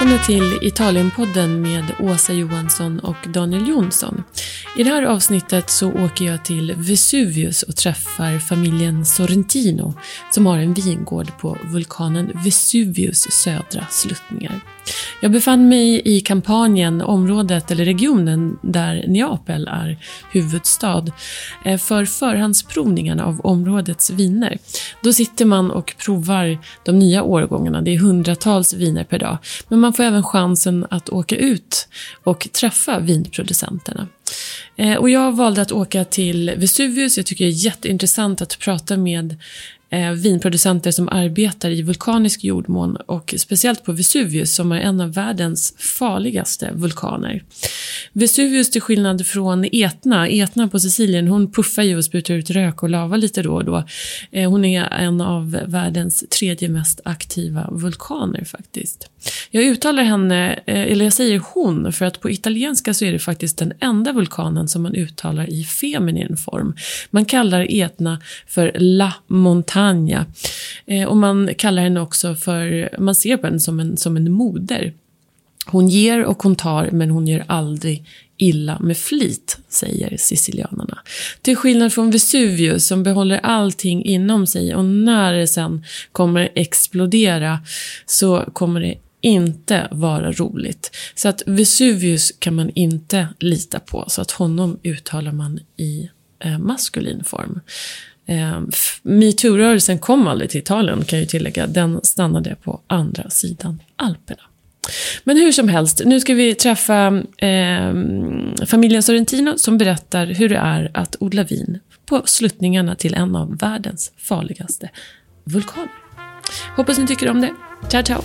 Välkomna till Italienpodden med Åsa Johansson och Daniel Jonsson. I det här avsnittet så åker jag till Vesuvius och träffar familjen Sorrentino som har en vingård på vulkanen Vesuvius södra sluttningar. Jag befann mig i Kampanien, området eller regionen där Neapel är huvudstad, för förhandsprovningarna av områdets viner. Då sitter man och provar de nya årgångarna, det är hundratals viner per dag. Men man får även chansen att åka ut och träffa vinproducenterna. Och jag valde att åka till Vesuvius. Jag tycker det är jätteintressant att prata med vinproducenter som arbetar i vulkanisk jordmån och speciellt på Vesuvius som är en av världens farligaste vulkaner. Vesuvius, till skillnad från Etna på Sicilien, hon puffar ju och sprutar ut rök och lava lite då och då. Hon är en av världens tredje mest aktiva vulkaner faktiskt. Jag uttalar henne, eller jag säger hon, för att på italienska så är det faktiskt den enda vulkanen som man uttalar i feminin form. Man kallar Etna för La Montagna. Och man kallar henne också för, man ser på henne som en moder. Hon ger och hon tar, men hon gör aldrig illa med flit, säger sicilianerna. Till skillnad från Vesuvius som behåller allting inom sig, och när det sen kommer explodera så kommer det inte vara roligt. Så att Vesuvius kan man inte lita på, så att honom uttalar man i maskulin form. MeToo-rörelsen kom aldrig till Italien, kan jag tillägga. Den stannade på andra sidan Alperna. Men hur som helst, nu ska vi träffa familjen Sorrentino som berättar hur det är att odla vin på sluttningarna till en av världens farligaste vulkaner. Hoppas ni tycker om det. Ciao, ciao!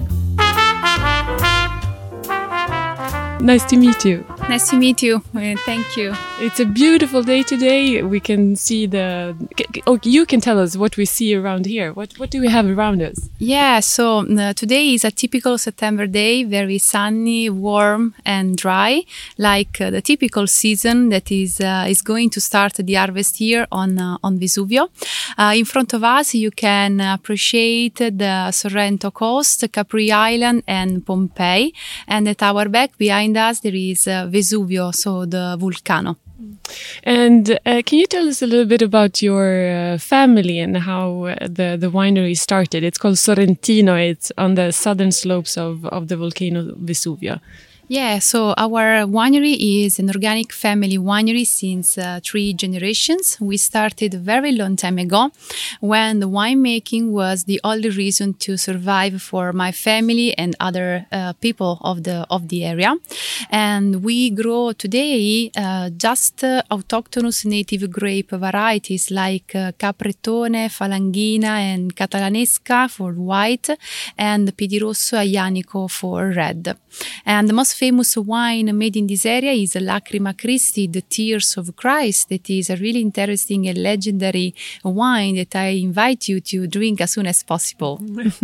Nice to meet you. Nice to meet you. Thank you. It's a beautiful day today. We can see you can tell us what we see around here. What do we have around us? Yeah, so today is a typical September day, very sunny, warm and dry, like the typical season that is going to start the harvest here on Vesuvio. In front of us you can appreciate the Sorrento coast, Capri Island and Pompeii, and at our back behind us there is Vesuvio, so the volcano. And can you tell us a little bit about your family and how the winery started? It's called Sorrentino. It's on the southern slopes of the volcano Vesuvio. Yeah, so our winery is an organic family winery since 3 generations. We started a very long time ago when the winemaking was the only reason to survive for my family and other people of the area. And we grow today just autochthonous native grape varieties like Capretone, Falanghina and Catalanesca for white and Piedirosso Aianico for red. And the most famous wine made in this area is Lacrima Christi, the Tears of Christ. That is a really interesting and legendary wine that I invite you to drink as soon as possible.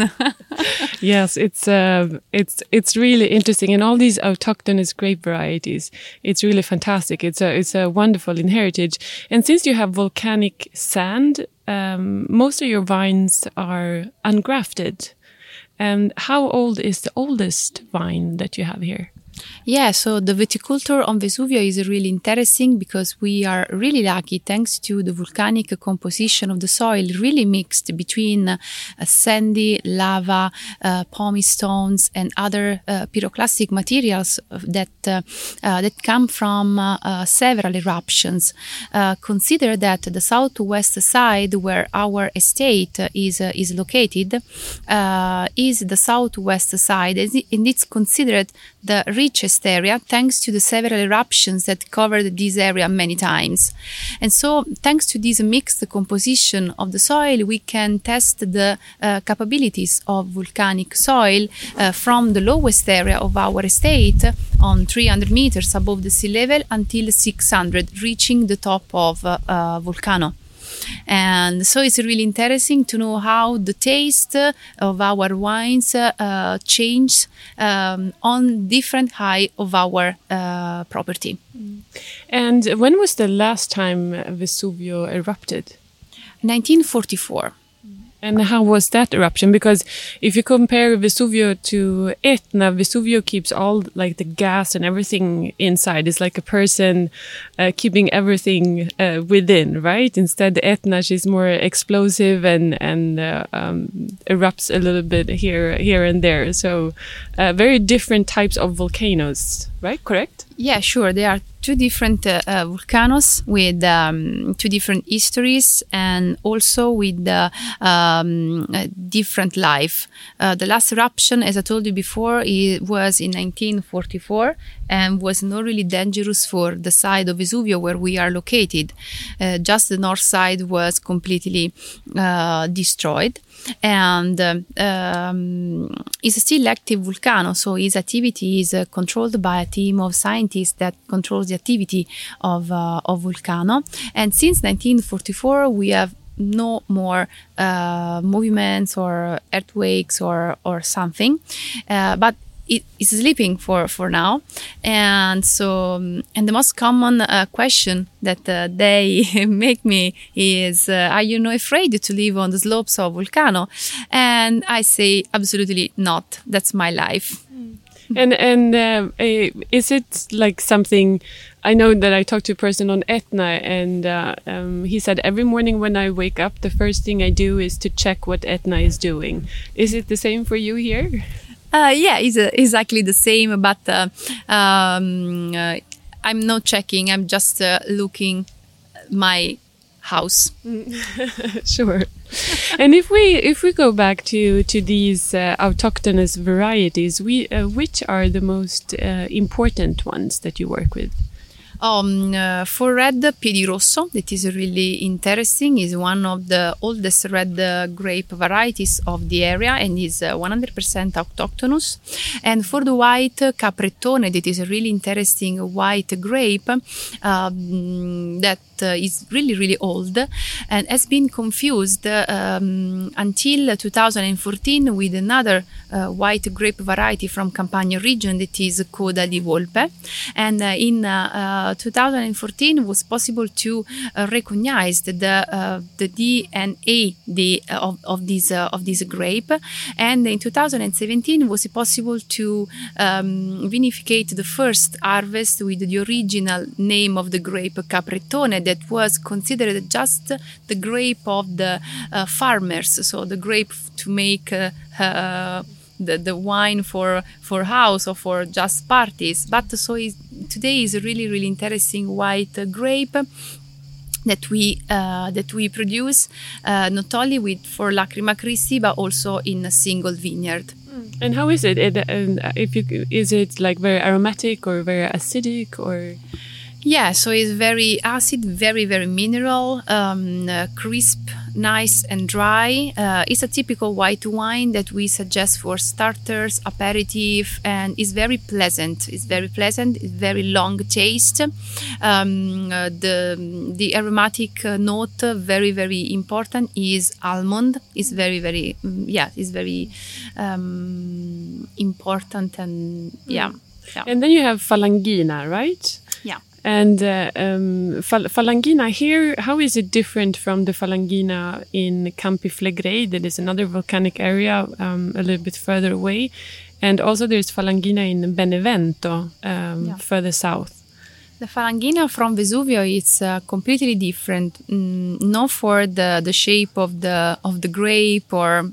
Yes, it's really interesting, and all these autochthonous grape varieties, it's really fantastic. It's a wonderful heritage, and since you have volcanic sand, most of your vines are ungrafted. And how old is the oldest vine that you have here? Yeah, so the viticulture on Vesuvio is really interesting because we are really lucky thanks to the volcanic composition of the soil, really mixed between sandy, lava, pumice stones and other pyroclastic materials that come from several eruptions. Consider that the southwest side where our estate is located is the southwest side, and it's considered the richest area thanks to the several eruptions that covered this area many times. And so thanks to this mixed composition of the soil, we can test the capabilities of volcanic soil from the lowest area of our estate on 300 meters above the sea level until 600, reaching the top of Vulcano. And so it's really interesting to know how the taste of our wines change on different height of our property. And when was the last time Vesuvio erupted? 1944. And how was that eruption? Because if you compare Vesuvio to Etna, Vesuvio keeps all like the gas and everything inside. It's like a person keeping everything within, right? Instead, Etna, she's more explosive and erupts a little bit here and there. So very different types of volcanoes, right? Correct? Yeah, sure. There are two different volcanoes with two different histories and also with different life. The last eruption, as I told you before, it was in 1944 and was not really dangerous for the side of Vesuvio where we are located. Just the north side was completely destroyed. And is a still active volcano, so its activity is controlled by a team of scientists that controls the activity of volcano. And since 1944, we have no more movements or earthquakes or something, but it is sleeping for now. And so, and the most common question that they make me is, are you not afraid to live on the slopes of volcano? And I say, absolutely not. That's my life. And is it like something? I know that I talked to a person on Etna, and he said every morning when I wake up, the first thing I do is to check what Etna is doing. Is it the same for you here? Yeah, it's exactly the same, but I'm not checking. I'm just looking my house. Sure. And if we go back to these autochthonous varieties, which are the most important ones that you work with? For red, Piedi Rosso, that is really interesting, is one of the oldest red grape varieties of the area and is 100% autochthonous. And for the white, Capretone, that is a really interesting white grape that is really, really old and has been confused until 2014 with another white grape variety from Campania region that is Coda di Volpe. And in 2014 was possible to recognize the DNA of this grape, and in 2017 was possible to vinificate the first harvest with the original name of the grape Capretone, that was considered just the grape of the farmers, so the grape to make the wine for house or for just parties. But so today is a really, really interesting white grape that we produce not only for Lacrima Christi but also in a single vineyard. And how is it? Is it like very aromatic or very acidic or? Yeah, so it's very acid, very, very mineral, crisp, nice and dry. It's a typical white wine that we suggest for starters, aperitif, and it's very pleasant. It's very pleasant, it's very long taste. The aromatic note, very, very important, is almond. It's very, very, it's very important and yeah. And then you have Falangina, right? Yeah. And Falangina here, how is it different from the Falangina in Campi Flegrei? That is another volcanic area a little bit further away. And also there's Falangina in Benevento, further south. The Falangina from Vesuvio is completely different, not for the shape of the grape or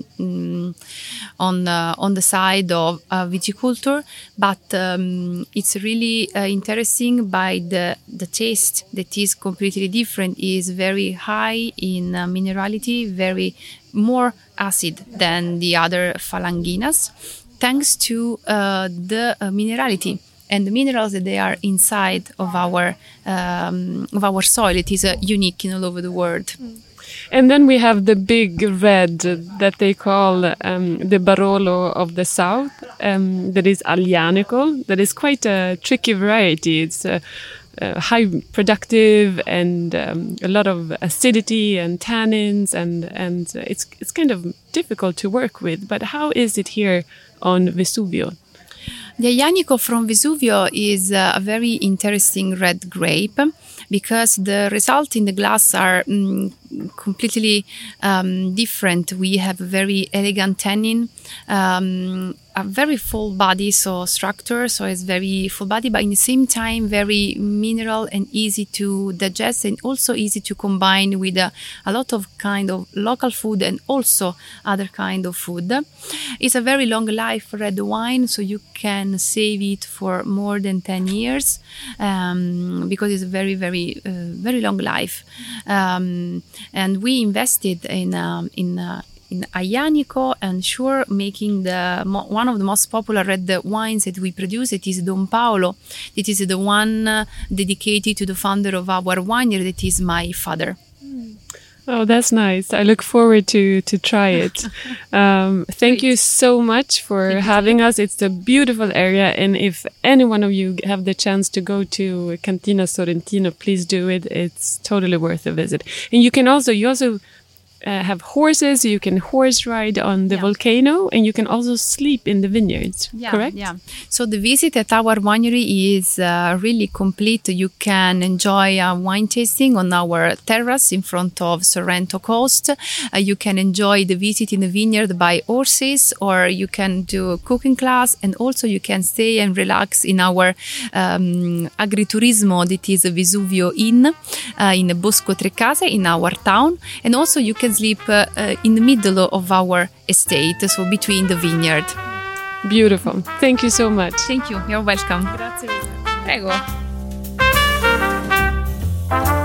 on the side of viticulture, but it's really interesting by the taste that is completely different. Is very high in minerality, very more acid than the other Falanginas, thanks to the minerality and the minerals that they are inside of our soil. It is unique in all over the world. And then we have the big red that they call the Barolo of the South, that is Aglianico. That is quite a tricky variety. It's high productive and a lot of acidity and tannins, and it's kind of difficult to work with. But how is it here on Vesuvio? The Aglianico from Vesuvio is a very interesting red grape because the results in the glass are completely different. We have a very elegant tannin, a very full body, so structure, so it's very full body, but in the same time very mineral and easy to digest, and also easy to combine with a lot of kind of local food and also other kind of food. It's a very long life red wine, so you can save it for more than 10 years because it's a very, very, very long life. And we invested in Aglianico and Shure, making one of the most popular red wines that we produce. It is Don Paolo. It is the one dedicated to the founder of our winery, that is my father. Oh, that's nice. I look forward to try it. Thank you so much for having us. It's a beautiful area, and if any one of you have the chance to go to Cantina Sorrentino, please do it. It's totally worth a visit. And you also have horses. You can horse ride on the volcano, and you can also sleep in the vineyards, correct? Yeah. So the visit at our winery is really complete. You can enjoy a wine tasting on our terrace in front of Sorrento coast. You can enjoy the visit in the vineyard by horses, or you can do a cooking class, and also you can stay and relax in our agriturismo, that is Vesuvio Inn in Bosco Trecase in our town, and also you can sleep in the middle of our estate, so between the vineyard. Beautiful. Thank you so much. Thank you. You're welcome. Grazie. Prego.